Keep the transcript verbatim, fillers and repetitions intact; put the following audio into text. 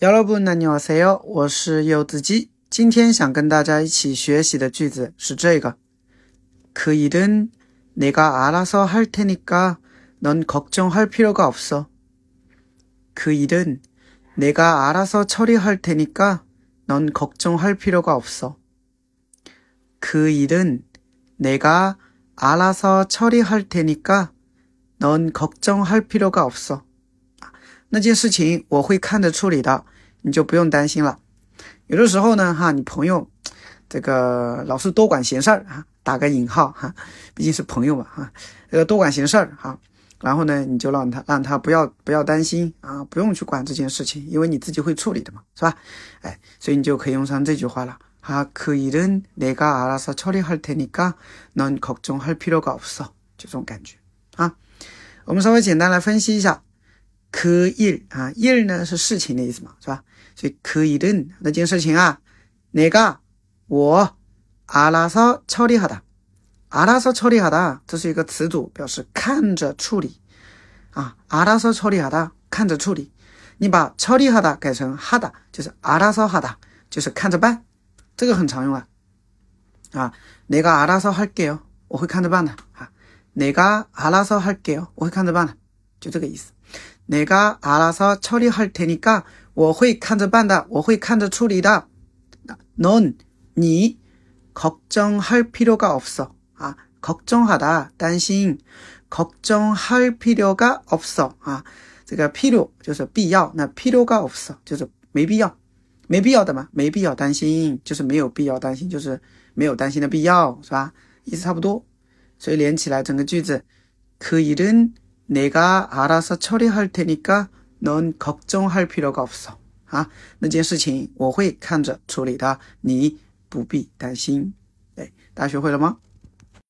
여러분 안녕하세요，我是柚子鸡。今天想跟大家一起学习的句子是这个。그 일은 내가 알아서 할 테니까 넌 걱정할 필요가 없어. 그 일은 내가 알아서 처리할 테니까 넌 걱정할 필요가 없어. 그 일은 내가 알아서 처리할 테니까 넌 걱정할 필요가 없어. 那件事情我会看着处理的，你就不用担心了。有的时候呢哈，你朋友这个老是多管闲事儿啊，打个引号哈，毕竟是朋友嘛哈，这个多管闲事儿哈，然后呢你就让他让他不要不要担心啊，不用去管这件事情，因为你自己会处理的嘛，是吧？哎，所以你就可以用上这句话了。啊，그 일은 내가 알아서 처리할 테니까 넌 걱정할 필요가 없어，就这种感觉啊。我们稍微简单来分析一下。그 일啊 일呢是事情的意思嘛，是吧？所以그 일은那件事情啊，내가我알아서 처리하다， 알아서 처리하다这是一个词组，表示看着处理啊，알아서 처리하다看着处理。你把처리하다改成하다，就是알아서 하다，就是看着办，这个很常用啊。啊，내가 알아서 할게요，我会看着办的啊。내가 알아서 할게요，我会看着办的，就这个意思。내가 알아서 처리할 테니까 我会看着办的，我会看着处理的。넌你 걱정할 필요가 없어. 아, 걱정하다 担心 걱정할 필요가 없어. 啊，这个필요就是必要，那필요가 없어就是没必要，没必要的嘛，没必要担心就是没有必要担心，就是没有担心的必要，是吧？意思差不多。所以连起来整个句子그 일은 내가 알아서 처리할 테니까 넌 걱정할 필요가 없어. 啊，那件事情我会看着处理的，你不必担心。哎，大家学会了吗？